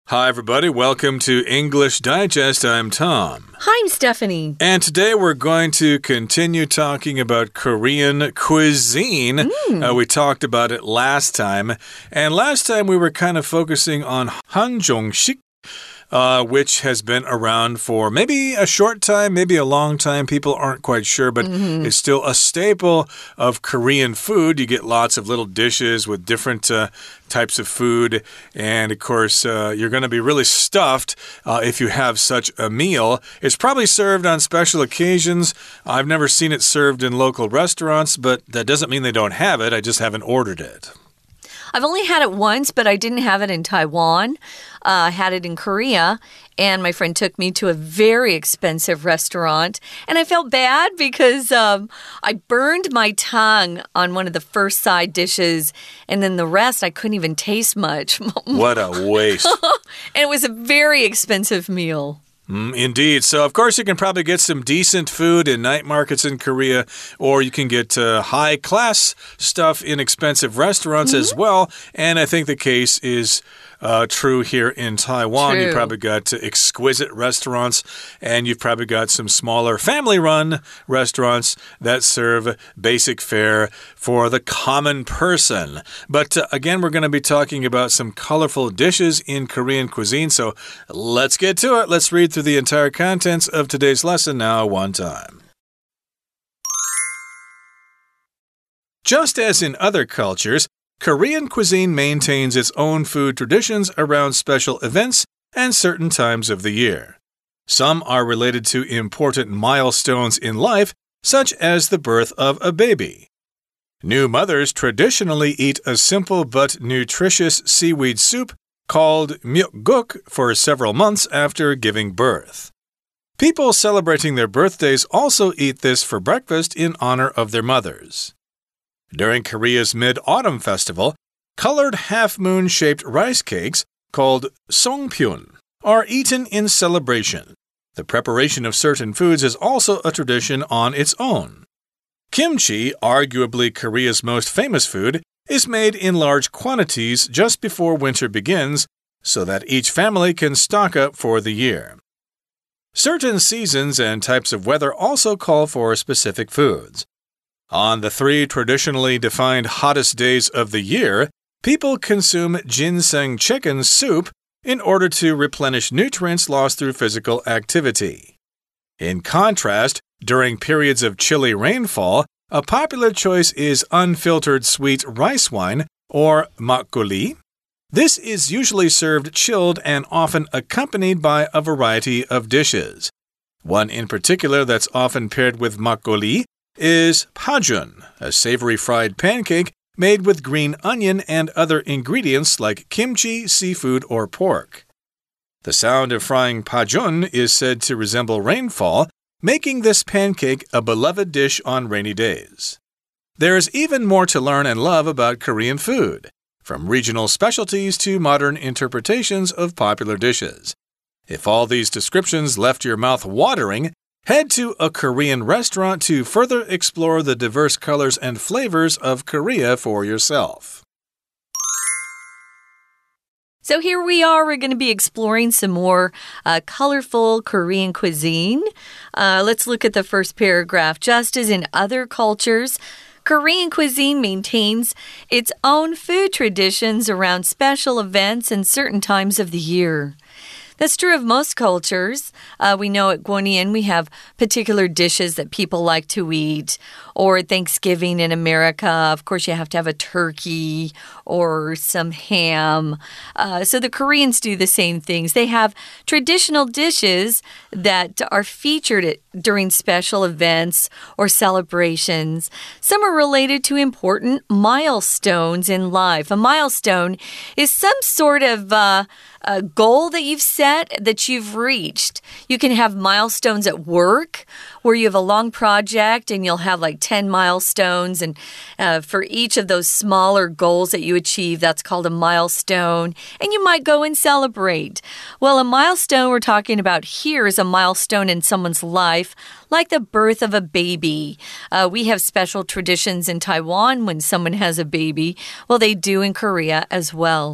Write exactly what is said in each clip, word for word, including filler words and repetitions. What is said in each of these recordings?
Hi, everybody. Welcome to English Digest. I'm Tom. Hi, I'm Stephanie. And today we're going to continue talking about Korean cuisine. Mm. Uh, we talked about it last time. And last time we were kind of focusing on Hanjongshik. Uh, which has been around for maybe a short time, maybe a long time. People aren't quite sure, but mm-hmm. it's still a staple of Korean food. You get lots of little dishes with different uh, types of food. And, of course, uh, you're going to be really stuffed uh, if you have such a meal. It's probably served on special occasions. I've never seen it served in local restaurants, but that doesn't mean they don't have it. I just haven't ordered it. I've only had it once, but I didn't have it in Taiwan. Uh, I had it in Korea, and my friend took me to a very expensive restaurant. And I felt bad because um, I burned my tongue on one of the first side dishes, and then the rest I couldn't even taste much. What a waste. And it was a very expensive meal. Mm, indeed. So, of course, you can probably get some decent food in night markets in Korea, or you can get uh, high-class stuff in expensive restaurants mm-hmm. as well. And I think the case is uh, true here in Taiwan. True. You've probably got uh, exquisite restaurants, and you've probably got some smaller family-run restaurants that serve basic fare for the common person. But uh, again, we're going to be talking about some colorful dishes in Korean cuisine. So let's get to it. Let's read through the entire contents of today's lesson now one time. Just as in other cultures, Korean cuisine maintains its own food traditions around special events and certain times of the year. Some are related to important milestones in life, such as the birth of a baby. New mothers traditionally eat a simple but nutritious seaweed soup called myeokguk for several months after giving birth. People celebrating their birthdays also eat this for breakfast in honor of their mothers. During Korea's Mid-Autumn Festival, colored half-moon-shaped rice cakes called songpyeon are eaten in celebration. The preparation of certain foods is also a tradition on its own. Kimchi, arguably Korea's most famous food, is made in large quantities just before winter begins so that each family can stock up for the year. Certain seasons and types of weather also call for specific foods. On the three traditionally defined hottest days of the year, people consume ginseng chicken soup in order to replenish nutrients lost through physical activity. In contrast, during periods of chilly rainfall, a popular choice is unfiltered sweet rice wine, or makgeolli. This is usually served chilled and often accompanied by a variety of dishes. One in particular that's often paired with makgeolli is pajun, a savory fried pancake made with green onion and other ingredients like kimchi, seafood, or pork. The sound of frying pajun is said to resemble rainfall, making this pancake a beloved dish on rainy days. There's even more to learn and love about Korean food, from regional specialties to modern interpretations of popular dishes. If all these descriptions left your mouth watering, head to a Korean restaurant to further explore the diverse colors and flavors of Korea for yourself. So here we are. We're going to be exploring some more uh, colorful Korean cuisine. Uh, let's look at the first paragraph. Just as in other cultures, Korean cuisine maintains its own food traditions around special events and certain times of the year. That's true of most cultures. Uh, we know at Gwonian we have particular dishes that people like to eat. Or at Thanksgiving in America, of course, you have to have a turkey or some ham. Uh, so the Koreans do the same things. They have traditional dishes that are featured at, during special events or celebrations. Some are related to important milestones in life. A milestone is some sort of uh, a goal that you've set that you've reached. You can have milestones at work where you have a long project and you'll have like ten milestones. And uh, for each of those smaller goals that you achieve, that's called a milestone. And you might go and celebrate. Well, a milestone we're talking about here is a milestone in someone's life, like the birth of a baby. Uh, we have special traditions in Taiwan when someone has a baby. Well, they do in Korea as well.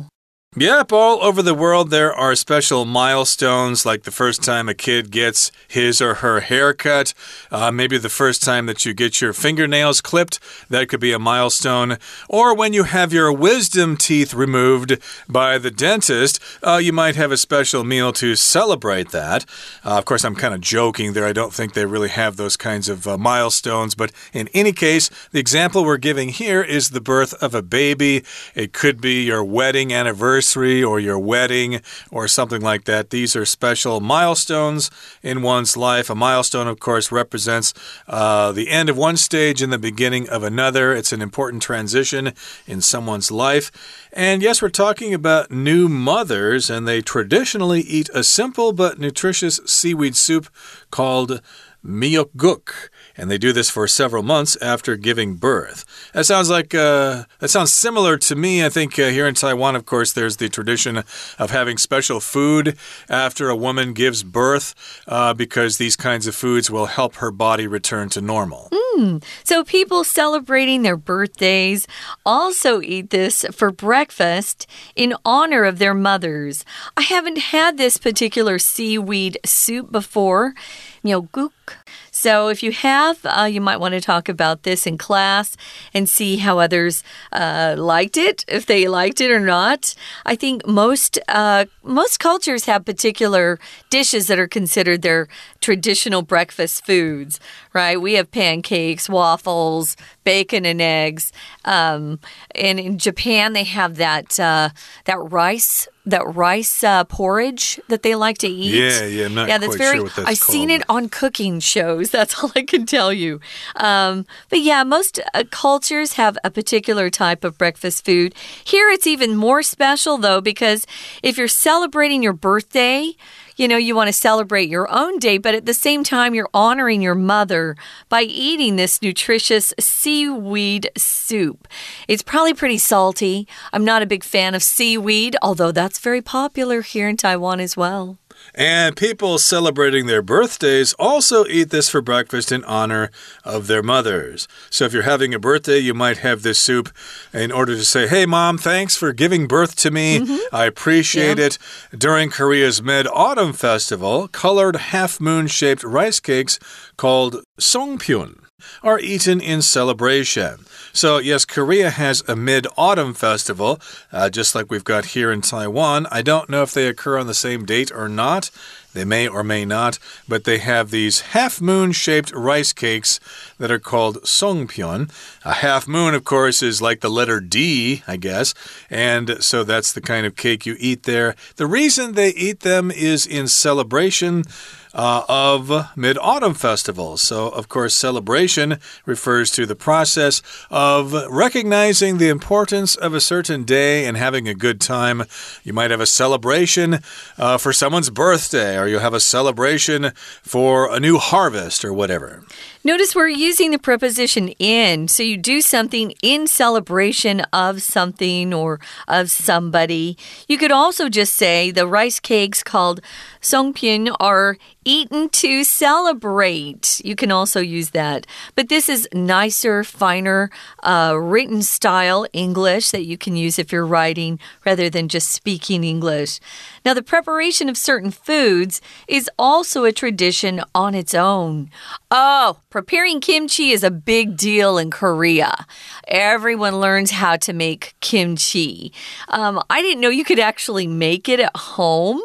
Yep, all over the world there are special milestones, like the first time a kid gets his or her haircut, uh, maybe the first time that you get your fingernails clipped, that could be a milestone, or when you have your wisdom teeth removed by the dentist, uh, you might have a special meal to celebrate that. Uh, of course, I'm kind of joking there. I don't think they really have those kinds of uh, milestones, but in any case, the example we're giving here is the birth of a baby. It could be your wedding anniversary or your wedding or something like that. These are special milestones in one's life. A milestone, of course, represents uh, the end of one stage and the beginning of another. It's an important transition in someone's life. And yes, we're talking about new mothers, and they traditionally eat a simple but nutritious seaweed soup called myeokguk, and they do this for several months after giving birth. That sounds like uh, that sounds similar to me. I think uh, here in Taiwan, of course, there's the tradition of having special food after a woman gives birth uh, because these kinds of foods will help her body return to normal. Mm. So people celebrating their birthdays also eat this for breakfast in honor of their mothers. I haven't had this particular seaweed soup before. Myeokguk. So if you have, uh, you might want to talk about this in class and see how others uh, liked it, if they liked it or not. I think most uh, most cultures have particular dishes that are considered their traditional breakfast foods, right? We have pancakes, waffles, bacon and eggs. Um, and in Japan, they have that uh, that rice that rice uh, porridge that they like to eat. Yeah, yeah, I'm not yeah, that's quite very, sure what that's I've called. seen it on cooking shows. That's all I can tell you. Um, but yeah, most uh, cultures have a particular type of breakfast food. Here it's even more special, though, because if you're celebrating your birthday, you know, you want to celebrate your own day, but at the same time, you're honoring your mother by eating this nutritious seaweed soup. It's probably pretty salty. I'm not a big fan of seaweed, although that's very popular here in Taiwan as well. And people celebrating their birthdays also eat this for breakfast in honor of their mothers. So if you're having a birthday, you might have this soup in order to say, hey, Mom, thanks for giving birth to me. Mm-hmm. I appreciate yeah. it. During Korea's Mid-Autumn Festival, colored half-moon-shaped rice cakes called songpyeon are eaten in celebration. So, yes, Korea has a Mid-Autumn Festival, uh, just like we've got here in Taiwan. I don't know if they occur on the same date or not. They may or may not, but they have these half-moon-shaped rice cakes that are called songpyeon. A half moon, of course, is like the letter D, I guess, and so that's the kind of cake you eat there. The reason they eat them is in celebration Uh, of Mid-Autumn Festival. So, of course, celebration refers to the process of recognizing the importance of a certain day and having a good time. You might have a celebration uh, for someone's birthday, or you'll have a celebration for a new harvest or whatever. Notice we're using the preposition in, so you do something in celebration of something or of somebody. You could also just say the rice cakes called songpyeon are eaten to celebrate. You can also use that. But this is nicer, finer, uh, written style English that you can use if you're writing rather than just speaking English. Now, the preparation of certain foods is also a tradition on its own. Oh, preparing kimchi is a big deal in Korea. Everyone learns how to make kimchi. Um, I didn't know you could actually make it at home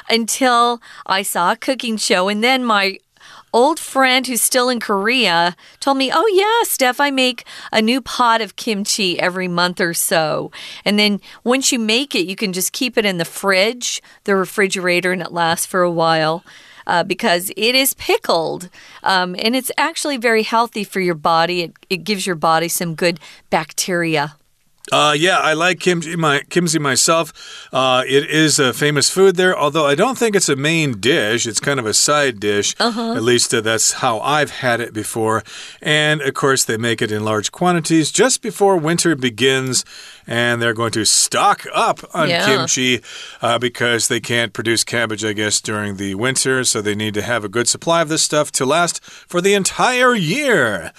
until I saw a cooking show, and then my old friend who's still in Korea told me, oh yeah, Steph, I make a new pot of kimchi every month or so. And then once you make it, you can just keep it in the fridge, the refrigerator, and it lasts for a while. Uh, because it is pickled, um, and it's actually very healthy for your body. It, it gives your body some good bacteria. Uh, yeah, I like kimchi, my, kimchi myself. Uh, it is a famous food there, although I don't think it's a main dish. It's kind of a side dish. Uh-huh. At least uh, that's how I've had it before. And, of course, they make it in large quantities just before winter begins. And they're going to stock up on yeah. kimchi uh, because they can't produce cabbage, I guess, during the winter. So they need to have a good supply of this stuff to last for the entire year.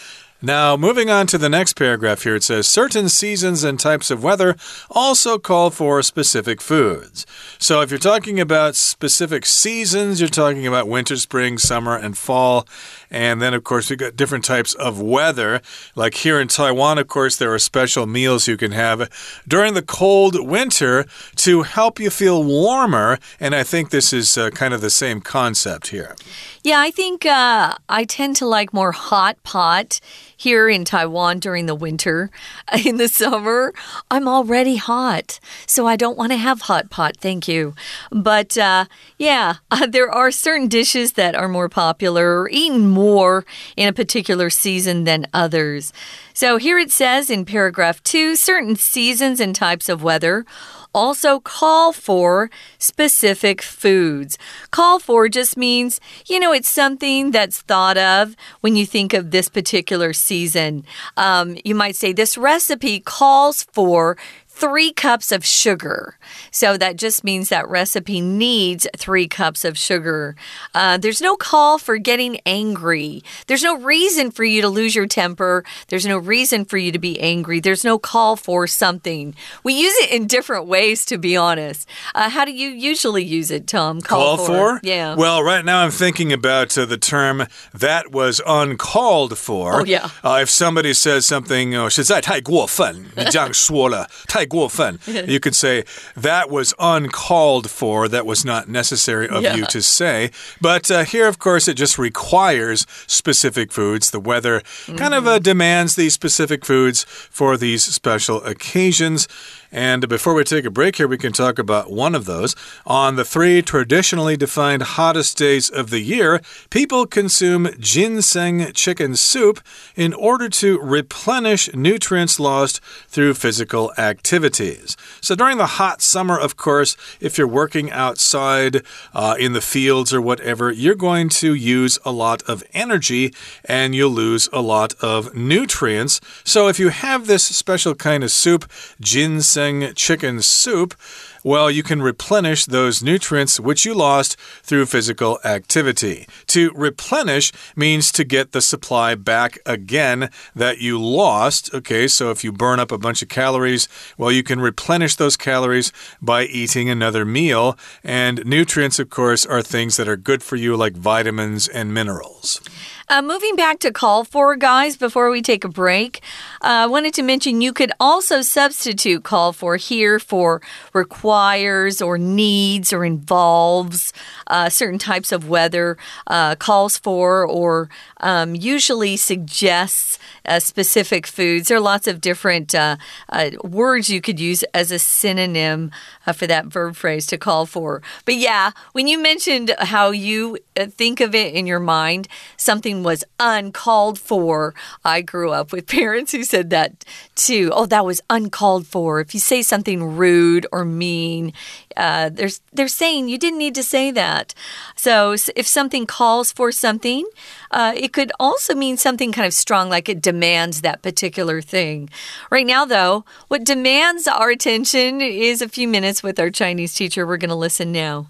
Now, moving on to the next paragraph here, it says, certain seasons and types of weather also call for specific foods. So if you're talking about specific seasons, you're talking about winter, spring, summer, and fall. And then, of course, we've got different types of weather. Like here in Taiwan, of course, there are special meals you can have during the cold winter to help you feel warmer. And I think this is uh, kind of the same concept here. Yeah, I think uh, I tend to like more hot pot here in Taiwan during the winter. In the summer, I'm already hot, so I don't want to have hot pot, thank you. But uh, yeah, uh, there are certain dishes that are more popular or eaten more in a particular season than others. So here it says in paragraph two, certain seasons and types of weather also call for specific foods. Call for just means, you know, it's something that's thought of when you think of this particular season. Um, you might say this recipe calls for three cups of sugar. So that just means that recipe needs three cups of sugar. Uh, there's no call for getting angry. There's no reason for you to lose your temper. There's no reason for you to be angry. There's no call for something. We use it in different ways, to be honest. Uh, how do you usually use it, Tom? Call, call for? for? Yeah. Well, right now I'm thinking about uh, the term that was uncalled for. Oh, yeah. Uh, if somebody says something, oh, 實在太过分,你这样说了,太过分, you could say that was uncalled for, that was not necessary of yeah. you to say. But uh, here, of course, it just requires specific foods. The weather mm-hmm. kind of uh, demands these specific foods for these special occasions. And before we take a break here, we can talk about one of those. On the three traditionally defined hottest days of the year, people consume ginseng chicken soup in order to replenish nutrients lost through physical activities. So during the hot summer, of course, if you're working outside uh, in the fields or whatever, you're going to use a lot of energy and you'll lose a lot of nutrients. So if you have this special kind of soup, ginseng chicken soup, well, you can replenish those nutrients which you lost through physical activity. To replenish means to get the supply back again that you lost. Okay, so if you burn up a bunch of calories, well, you can replenish those calories by eating another meal. And nutrients, of course, are things that are good for you, like vitamins and minerals. Uh, moving back to call for, guys, before we take a break, uh, I wanted to mention you could also substitute call for here for requires or needs or involves uh, certain types of weather, uh, calls for or um, usually suggests uh, specific foods. There are lots of different uh, uh, words you could use as a synonym uh, for that verb phrase to call for. But yeah, when you mentioned how you think of it in your mind, something was uncalled for. I grew up with parents who said that too. Oh, that was uncalled for. If you say something rude or mean, uh, they're, they're saying you didn't need to say that. So if something calls for something, uh, it could also mean something kind of strong, like it demands that particular thing. Right now, though, what demands our attention is a few minutes with our Chinese teacher. We're going to listen now.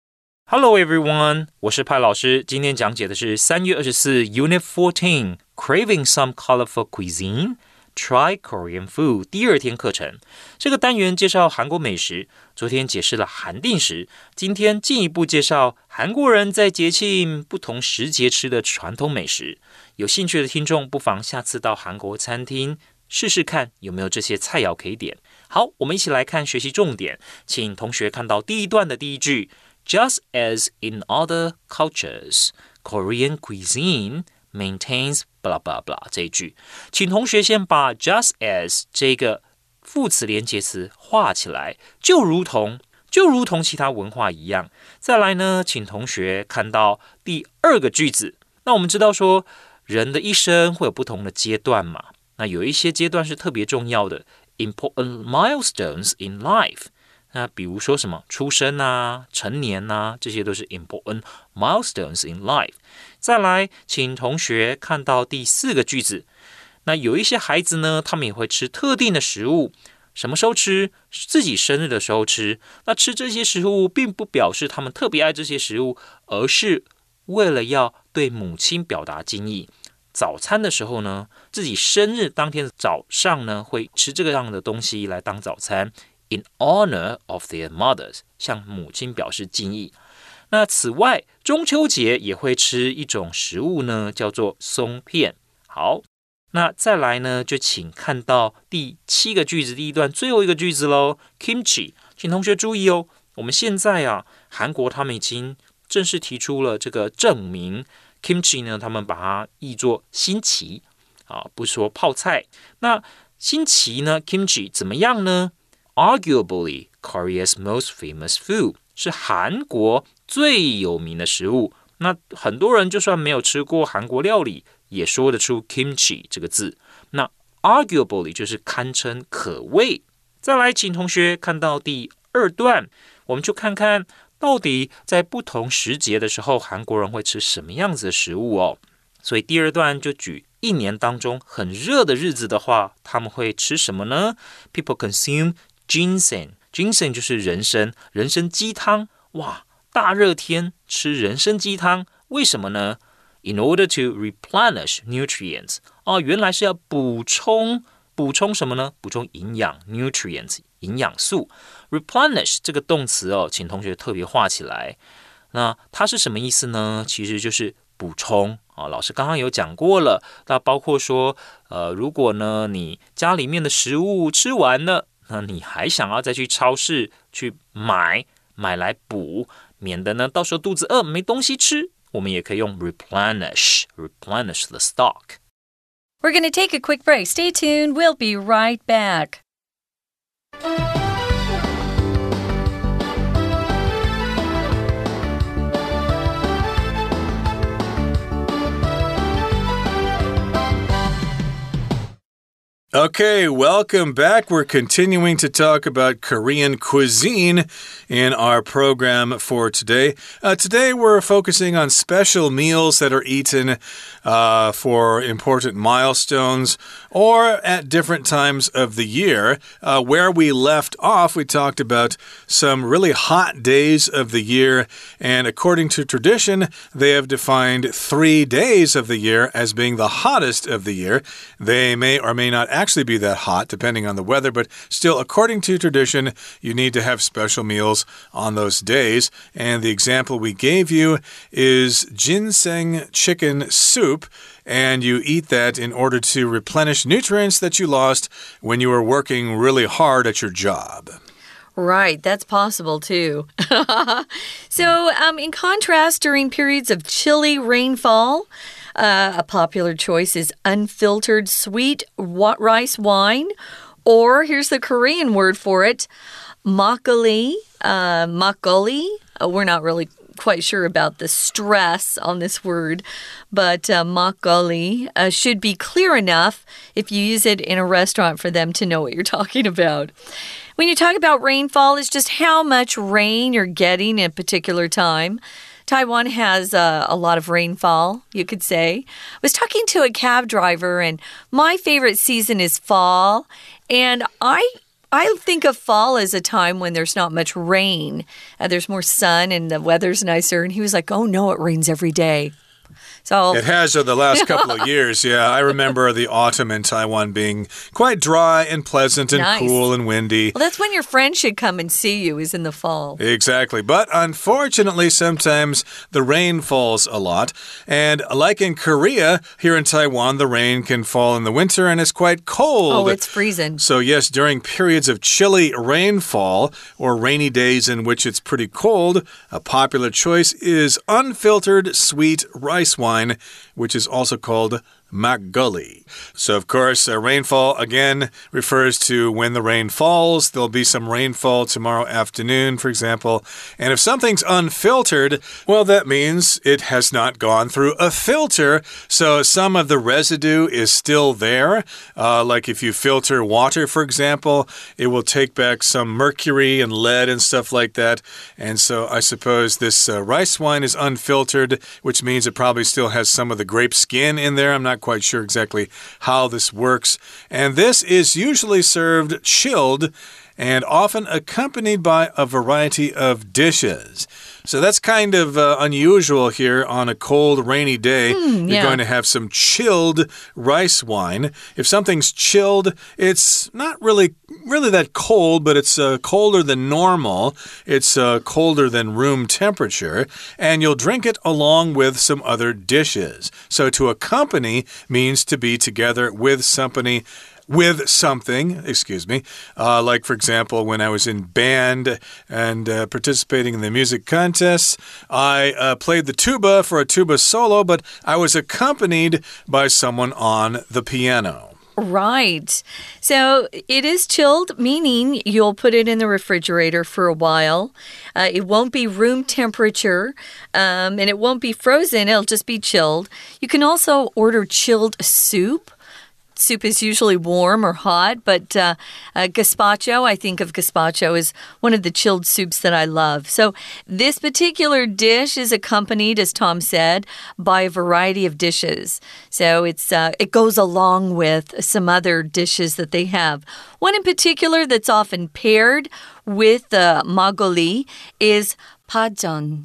Hello everyone, 我是派老師，今天講解的是三月二十四 Unit fourteen, Craving some colorful cuisine? Try Korean food 第二天課程。這個單元介紹韓國美食，昨天解釋了韓定食，今天進一步介紹韓國人在節慶不同時節吃的傳統美食。有興趣的聽眾不妨下次到韓國餐廳試試看有沒有這些菜肴可以點。好，我們一起來看學習重點，請同學看到第一段的第一句。Just as in other cultures, Korean cuisine maintains blah blah blah 這一句，請同學先把 just as 這個副詞連結詞畫起來，就如同就如同其他文化一樣。再來呢，請同學看到第二個句子。那我們知道說，人的一生會有不同的階段嘛，那有一些階段是特別重要的 important milestones in life。那比如說什麼出生啊、成年啊，這些都是 important milestones in life。再來，請同學看到第四個句子。那有一些孩子呢，他們也會吃特定的食物，什麼時候吃？自己生日的時候吃。那吃這些食物，並不表示他們特別愛這些食物，而是為了要對母親表達敬意。 早餐的時候呢，自己生日當天的早上呢，會吃這個樣的東西來當早餐 ，in honor of their mothers， 向母親表示敬意。那此外，中秋節也會吃一種食物呢，叫做鬆片。好，那再來呢，就請看到第七個句子第一段最後一個句子嘍 ，kimchi， 請同學注意哦，我們現在啊，韓國他們已經正式提出了這個證明 ，kimchi 呢，他們把它譯作新奇啊，不說泡菜。那新奇呢 ，kimchi 怎麼樣呢 ？Arguably Korea's most famous food， 是韓國最有名的食物。那很多人就算沒有吃過韓國料理，也說得出 kimchi 這個字。那 arguably 就是堪稱可謂。再來，請同學看到第二段，我們就看看到底在不同時節的時候，韓國人會吃什麼樣子的食物哦。所以第二段就舉一年當中很熱的日子的話，他們會吃什麼呢？ People consume ginseng，ginseng 就是人參，人參雞湯。哇，大熱天吃人參雞湯，為什麼呢？ In order to replenish nutrients， 哦，原來是要補充補充什麼呢？補充營養 nutrients， 營養素。replenish 這個動詞哦，請同學特別畫起來。那它是什麼意思呢？其實就是補充啊、哦。老師剛剛有講過了，那包括說，呃，如果呢你家裡面的食物吃完了，那你還想要再去超市去買買來補，免得呢到時候肚子餓沒東西吃。我們也可以用 replenish, replenish the stock. We're going to take a quick break. Stay tuned. We'll be right back. Okay, welcome back. We're continuing to talk about Korean cuisine in our program for today. Uh, today, we're focusing on special meals that are eaten uh, for important milestones or at different times of the year. Uh, where we left off, we talked about some really hot days of the year, and according to tradition, they have defined three days of the year as being the hottest of the year. They may or may not actually actually be that hot depending on the weather, but still, according to tradition, you need to have special meals on those days. And the example we gave you is ginseng chicken soup, and you eat that in order to replenish nutrients that you lost when you were working really hard at your job. Right, that's possible too. So, um, in contrast, during periods of chilly rainfall, Uh, a popular choice is unfiltered sweet rice wine, or here's the Korean word for it, makgeolli. Uh, makgeolli. Uh, we're not really quite sure about the stress on this word, but uh, makgeolli uh, should be clear enough if you use it in a restaurant for them to know what you're talking about. When you talk about rainfall, it's just how much rain you're getting at a particular time. Taiwan has uh, a lot of rainfall, you could say. I was talking to a cab driver, and my favorite season is fall. And I I think of fall as a time when there's not much rain. Uh, there's more sun and the weather's nicer. And he was like, oh, no, it rains every day. So it has over the last couple of years, yeah. I remember the autumn in Taiwan being quite dry and pleasant and nice. Cool and windy. Well, that's when your friend should come and see you, is in the fall. Exactly. But unfortunately, sometimes the rain falls a lot. And like in Korea, here in Taiwan, the rain can fall in the winter and it's quite cold. Oh, it's freezing. So yes, during periods of chilly rainfall or rainy days in which it's pretty cold, a popular choice is unfiltered sweet rice wine, which is also called makgeolli. So, of course, uh, rainfall, again, refers to when the rain falls. There'll be some rainfall tomorrow afternoon, for example. And if something's unfiltered, well, that means it has not gone through a filter. So some of the residue is still there. Uh, like if you filter water, for example, it will take back some mercury and lead and stuff like that. And so I suppose this uh, rice wine is unfiltered, which means it probably still has some of the grape skin in there. I'm not quite sure exactly how this works. And this is usually served chilled and often accompanied by a variety of dishes. So that's kind of uh, unusual here on a cold, rainy day. Mm, yeah. You're going to have some chilled rice wine. If something's chilled, it's not really really that cold, but it's uh, colder than normal. It's uh, colder than room temperature, and you'll drink it along with some other dishes. So to accompany means to be together with somebody. With something, excuse me, uh, like, for example, when I was in band and uh, participating in the music contests, I uh, played the tuba for a tuba solo, but I was accompanied by someone on the piano. Right. So it is chilled, meaning you'll put it in the refrigerator for a while. Uh, it won't be room temperature, um, and it won't be frozen. It'll just be chilled. You can also order chilled soup. Soup is usually warm or hot, but uh, uh, gazpacho, I think of gazpacho as one of the chilled soups that I love. So this particular dish is accompanied, as Tom said, by a variety of dishes. So it's uh, it goes along with some other dishes that they have. One in particular that's often paired with uh, magoli is pajeon.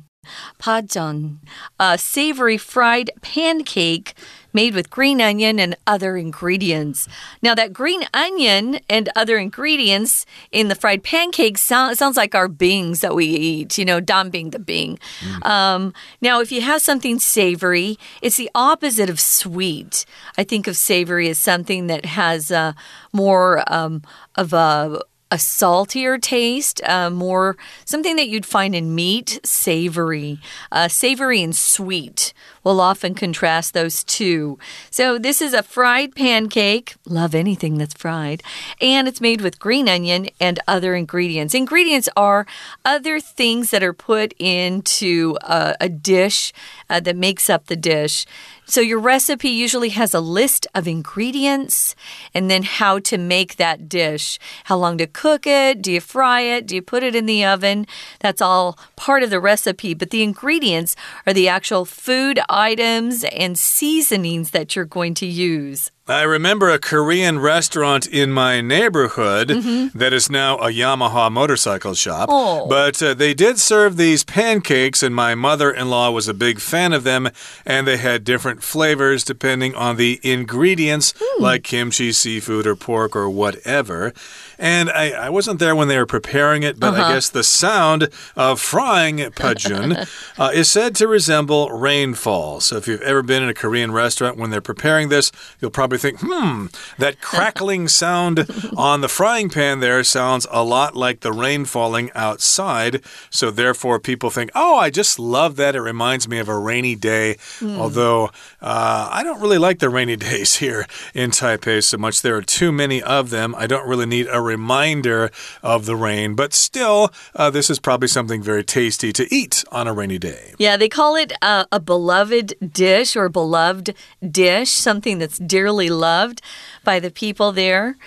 Pajeon, a savory fried pancake made with green onion and other ingredients. Now, that green onion and other ingredients in the fried pancake sound, sounds like our bings that we eat, you know, danbing, the bing. Mm. Um, now, if you have something savory, it's the opposite of sweet. I think of savory as something that has uh, more um, of a... a saltier taste, uh, more something that you'd find in meat, savory. Uh, savory and sweet will often contrast those two. So this is a fried pancake. Love anything that's fried. And it's made with green onion and other ingredients. Ingredients are other things that are put into a, a dish uh, that makes up the dish. So your recipe usually has a list of ingredients and then how to make that dish. How long to cook it? Do you fry it? Do you put it in the oven? That's all part of the recipe. But the ingredients are the actual food items and seasonings that you're going to use. I remember a Korean restaurant in my neighborhood mm-hmm. that is now a Yamaha motorcycle shop. Oh. But uh, they did serve these pancakes, and my mother-in-law was a big fan of them, and they had different flavors depending on the ingredients, mm. like kimchi, seafood, or pork, or whatever. And I, I wasn't there when they were preparing it, but uh-huh. I guess the sound of frying pajeon uh, is said to resemble rainfall. So if you've ever been in a Korean restaurant when they're preparing this, you'll probably think, hmm, that crackling sound on the frying pan there sounds a lot like the rain falling outside. So therefore, people think, oh, I just love that. It reminds me of a rainy day. Mm. Although uh, I don't really like the rainy days here in Taipei so much. There are too many of them. I don't really need a reminder of the rain. But still, uh, this is probably something very tasty to eat on a rainy day. Yeah, they call it uh, a beloved dish or beloved dish, something that's dearly loved by the people there.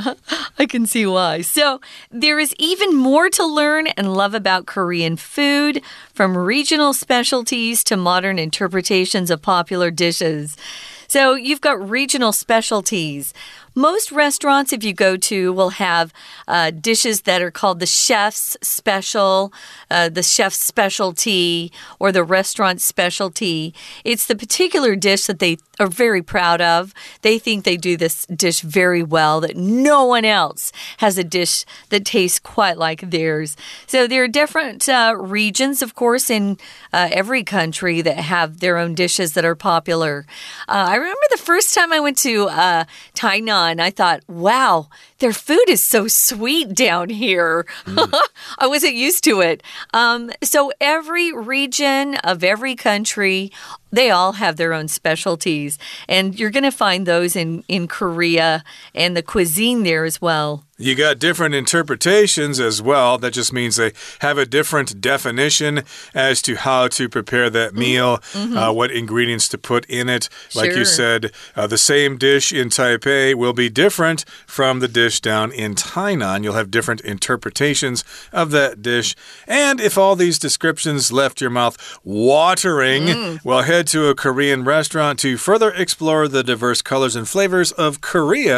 I can see why. So there is even more to learn and love about Korean food, from regional specialties to modern interpretations of popular dishes. So you've got regional specialties. Most restaurants, if you go to, will have uh, dishes that are called the chef's special, uh, the chef's specialty, or the restaurant specialty. It's the particular dish that they are very proud of. They think they do this dish very well, that no one else has a dish that tastes quite like theirs. So there are different uh, regions, of course, in uh, every country that have their own dishes that are popular. Uh, I remember the first time I went to uh, Tainan, I thought, wow, their food is so sweet down here. Mm. I wasn't used to it. Um, so every region of every country, they all have their own specialties. And you're going to find those in, in Korea and the cuisine there as well. You got different interpretations as well. That just means they have a different definition as to how to prepare that meal, mm-hmm. uh, what ingredients to put in it. Like sure. you said, uh, the same dish in Taipei will be different from the dish down in Tainan. You'll have different interpretations of that dish. And if all these descriptions left your mouth watering, mm. well, head to a Korean restaurant to further explore the diverse colors and flavors of Korea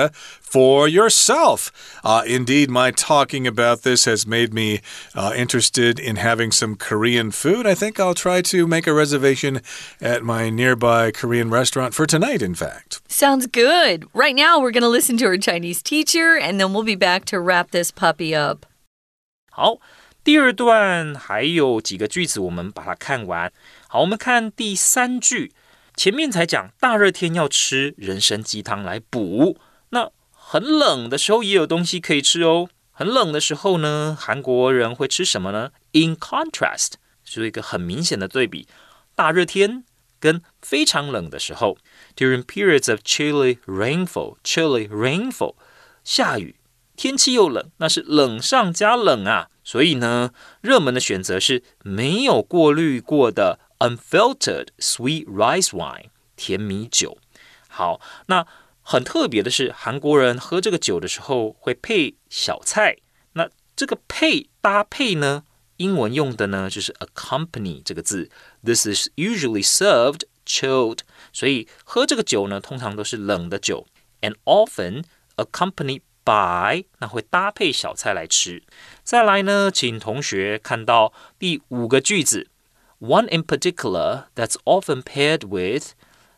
for yourself. Uh, indeed, my talking about this has made me uh, interested in having some Korean food. I think I'll try to make a reservation at my nearby Korean restaurant for tonight, in fact. Sounds good. Right now, we're going to listen to our Chinese teacher, and then we'll be back to wrap this puppy up. 好，第二段還有幾個句子，我們把它看完。好，我們看第三句。前面才講大熱天要吃人參雞湯來補，那很冷的時候也有東西可以吃哦。很冷的時候呢，韓國人會吃什麼呢？ In contrast， 是一個很明顯的對比，大熱天跟非常冷的時候 ，During periods of chilly rainfall， chilly rainfall， 下雨，天氣又冷，那是冷上加冷啊。所以呢，熱門的選擇是沒有過濾過的Unfiltered sweet rice wine， 甜米酒。好，那很特別的是，韓國人喝這個酒的時候會配小菜。那這個配搭配呢，英文用的呢就是 accompany 這個字。This is usually served chilled， 所以喝這個酒呢，通常都是冷的酒 ，and often accompanied by， 那會搭配小菜來吃。再來呢，請同學看到第五個句子。One in particular that's often paired with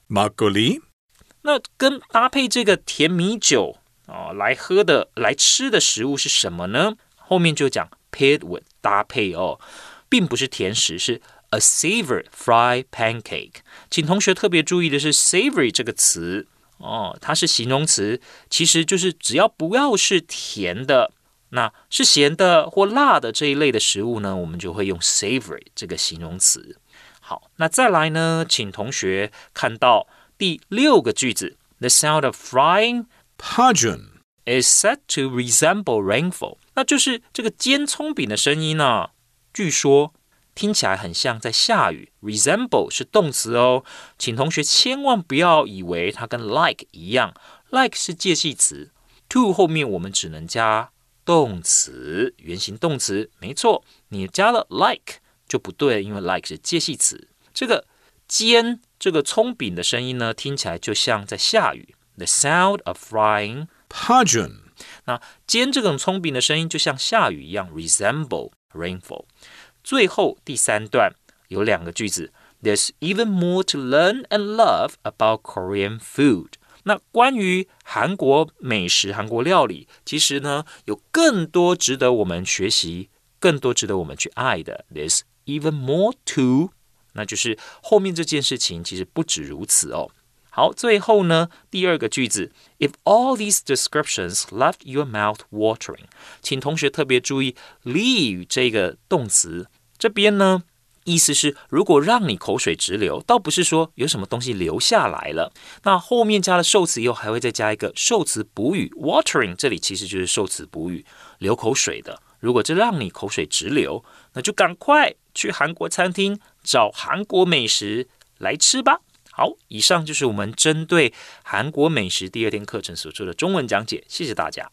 막걸리。 那跟搭配這個甜米酒、哦、來喝的、來吃的食物是什麼呢？後面就講 paired with 搭配哦，並不是甜食，是 a savory fried pancake。請同學特別注意的是 savory 這個詞哦，它是形容詞，其實就是只要不要是甜的。那是鹹的或辣的這一類的食物呢，我們就會用 savory 這個形容詞。好，那再來呢，請同學看到第六個句子 The sound of frying Pajun is said to resemble rainfall， 那就是這個煎蔥餅的聲音呢、啊，據說聽起來很像在下雨。Resemble 是動詞哦，請同學千萬不要以為它跟 like 一樣 ，like 是介系詞 ，to 後面我們只能加動詞，原形動詞，沒錯，你加了 like 就不對，因為 like 是介系詞。這個煎這個蔥餅的聲音呢，聽起來就像在下雨。The sound of frying Pajun。 那煎這種蔥餅的聲音就像下雨一樣 ，resemble rainfall。最後第三段有兩個句子 ，There's even more to learn and love about Korean food。那關於韓國美食、韓國料理，其實呢有更多值得我們學習、更多值得我們去愛的。There's even more to， 那就是後面這件事情其實不止如此哦。好，最後呢第二個句子 ，If all these descriptions left your mouth watering， 請同學特別注意 leave 這個動詞，這邊呢。意思是，如果讓你口水直流，倒不是說有什麼東西流下來了。那後面加了受詞以後，還會再加一個受詞補語 watering， 這裡其實就是受詞補語，流口水的。如果這讓你口水直流，那就趕快去韓國餐廳找韓國美食來吃吧。好，以上就是我們針對韓國美食第二天課程所做的中文講解，謝謝大家。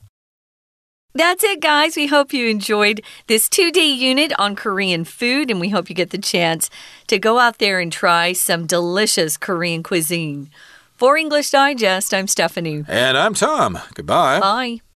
That's it, guys. We hope you enjoyed this two-day unit on Korean food, and we hope you get the chance to go out there and try some delicious Korean cuisine. For English Digest, I'm Stephanie. And I'm Tom. Goodbye. Bye.